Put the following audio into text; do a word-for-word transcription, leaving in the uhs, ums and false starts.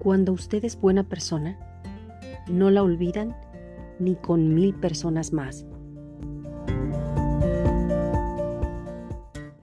cuando usted es buena persona, no la olvidan ni con mil personas más.